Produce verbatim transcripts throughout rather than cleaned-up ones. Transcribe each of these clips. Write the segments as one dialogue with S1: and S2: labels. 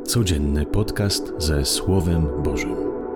S1: Codzienny podcast ze Słowem Bożym.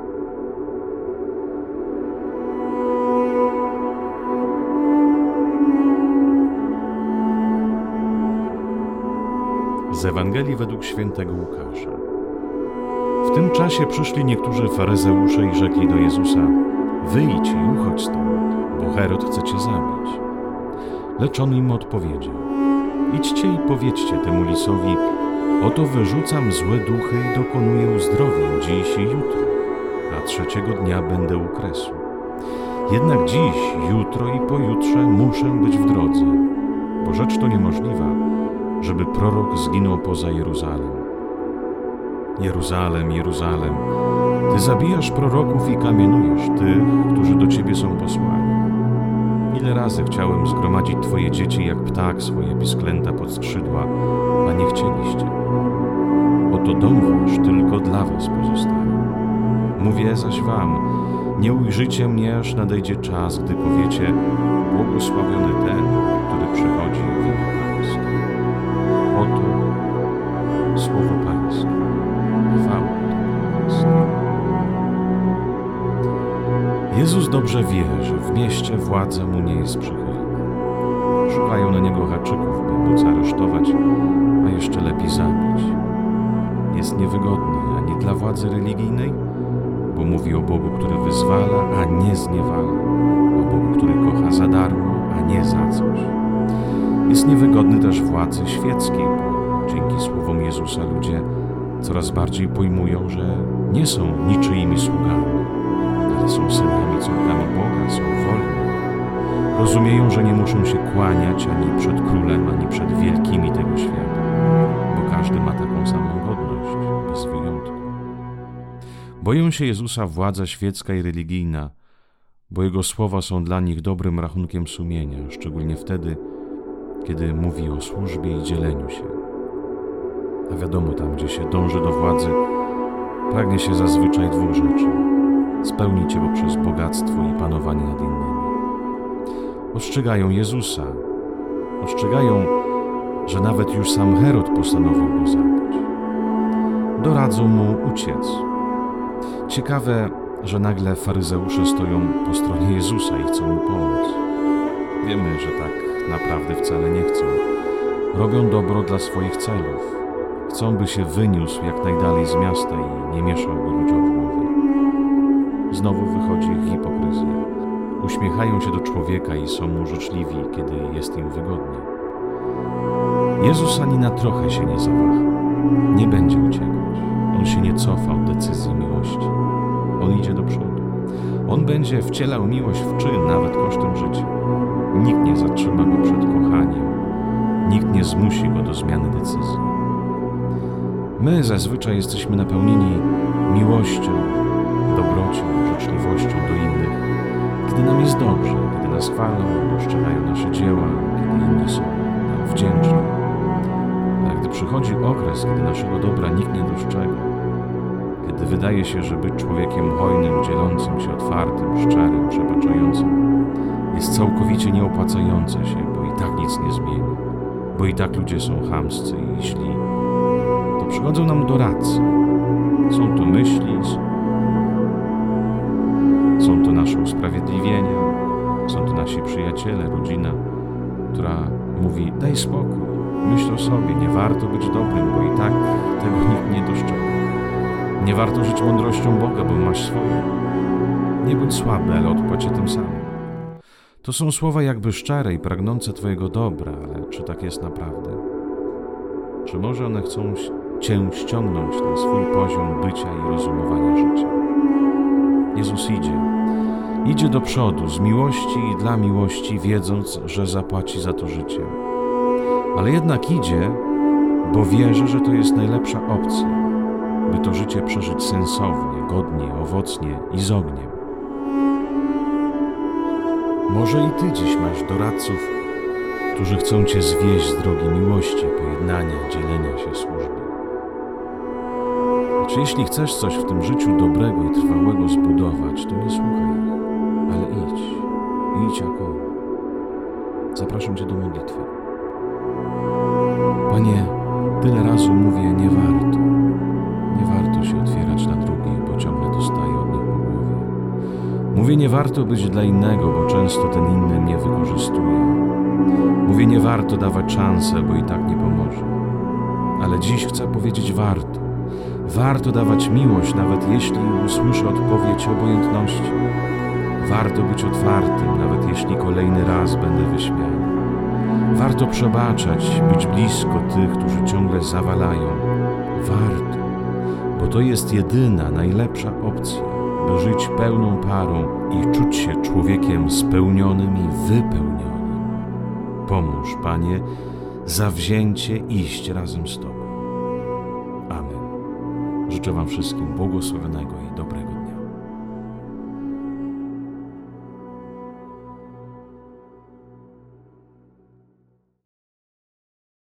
S1: Z Ewangelii według świętego Łukasza. W tym czasie przyszli niektórzy faryzeusze i rzekli do Jezusa: Wyjdź i uchodź stąd, bo Herod chce cię zabić. Lecz on im odpowiedział: Idźcie i powiedzcie temu lisowi: Oto wyrzucam złe duchy i dokonuję uzdrowień dziś i jutro, a trzeciego dnia będę u kresu. Jednak dziś, jutro i pojutrze muszę być w drodze, bo rzecz to niemożliwa, żeby prorok zginął poza Jeruzalem. Jeruzalem, Jeruzalem, Ty zabijasz proroków i kamienujesz tych, którzy do Ciebie są posłani. Ile razy chciałem zgromadzić Twoje dzieci jak ptak swoje pisklęta pod skrzydła, a nie chcieliście. Oto dom wasz tylko dla was pozostanie. Mówię zaś wam, nie ujrzycie mnie, aż nadejdzie czas, gdy powiecie: błogosławiony ten, który przychodzi w imię Pańskie. Oto słowo Pańskie. Chwała Pańskie. Jezus dobrze wie, że w mieście władza mu nie jest przychylna. Szukają na niego haczyków, by móc aresztować, a jeszcze lepiej zabić. Jest niewygodny ani dla władzy religijnej, bo mówi o Bogu, który wyzwala, a nie zniewala, o Bogu, który kocha za darmo, a nie za coś. Jest niewygodny też władzy świeckiej, bo dzięki słowom Jezusa ludzie coraz bardziej pojmują, że nie są niczyimi sługami, ale są synami, córkami Boga, są wolni. Rozumieją, że nie muszą się kłaniać ani przed królem, ani przed wielkimi tego świata, bo każdy ma taką samą godność, bez wyjątku. Boją się Jezusa władza świecka i religijna, bo Jego słowa są dla nich dobrym rachunkiem sumienia, szczególnie wtedy, kiedy mówi o służbie i dzieleniu się. A wiadomo, tam gdzie się dąży do władzy, pragnie się zazwyczaj dwóch rzeczy: spełnić je poprzez bogactwo i panowanie nad innymi. Ostrzegają Jezusa, ostrzegają, że nawet już sam Herod postanowił go zabić. Doradzą mu uciec. Ciekawe, że nagle faryzeusze stoją po stronie Jezusa i chcą mu pomóc. Wiemy, że tak naprawdę wcale nie chcą. Robią dobro dla swoich celów. Chcą, by się wyniósł jak najdalej z miasta i nie mieszałby ludziom w głowie. Znowu wychodzi ich hipokryzja. Uśmiechają się do człowieka i są mu życzliwi, kiedy jest im wygodnie. Jezus ani na trochę się nie zawaha. Nie będzie uciekać. On się nie cofa od decyzji miłości. On idzie do przodu. On będzie wcielał miłość w czyn, nawet kosztem życia. Nikt nie zatrzyma go przed kochaniem. Nikt nie zmusi go do zmiany decyzji. My zazwyczaj jesteśmy napełnieni miłością, dobrocią, życzliwością do innych, kiedy nam jest dobrze, kiedy nas chwalą, dostrzegają nasze dzieła, kiedy inni są nam wdzięczni. Ale gdy przychodzi okres, kiedy naszego dobra nikt nie dostrzega, kiedy wydaje się, że być człowiekiem hojnym, dzielącym się, otwartym, szczerym, przebaczającym jest całkowicie nieopłacające się, bo i tak nic nie zmieni, bo i tak ludzie są chamscy i źli, to przychodzą nam doradcy. Są to myśli, są to nasze usprawiedliwienia, są to nasi przyjaciele, rodzina, która mówi: daj spokój, myśl o sobie, nie warto być dobrym, bo i tak tego nikt nie dostrzega. Nie warto żyć mądrością Boga, bo masz swoją. Nie bądź słaby, ale odpłać się tym samym. To są słowa jakby szczere i pragnące Twojego dobra, ale czy tak jest naprawdę? Czy może one chcą Cię ściągnąć na swój poziom bycia i rozumowania życia? Jezus idzie. Idzie do przodu z miłości i dla miłości, wiedząc, że zapłaci za to życie. Ale jednak idzie, bo wierzy, że to jest najlepsza opcja, by to życie przeżyć sensownie, godnie, owocnie i z ogniem. Może i Ty dziś masz doradców, którzy chcą Cię zwieść z drogi miłości, pojednania, dzielenia się, służby. Lecz jeśli chcesz coś w tym życiu dobrego i trwałego zbudować, to nie słuchaj ich, ale idź. Idź jak on. Zapraszam Cię do modlitwy. Panie, tyle razy mówię: nie warto. Nie warto się otwierać na drugich, bo ciągle dostaję od nich po głowie. Mówię, nie warto być dla innego, bo często ten inny mnie wykorzystuje. Mówię, nie warto dawać szansę, bo i tak nie pomoże. Ale dziś chcę powiedzieć, warto. Warto dawać miłość, nawet jeśli usłyszę odpowiedź obojętności. Warto być otwartym, nawet jeśli kolejny raz będę wyśmiany. Warto przebaczać, być blisko tych, którzy ciągle zawalają. Warto, bo to jest jedyna, najlepsza opcja, by żyć pełną parą i czuć się człowiekiem spełnionym i wypełnionym. Pomóż, Panie, zawzięcie iść razem z Tobą. Amen. Życzę Wam wszystkim błogosławionego i dobrego dnia.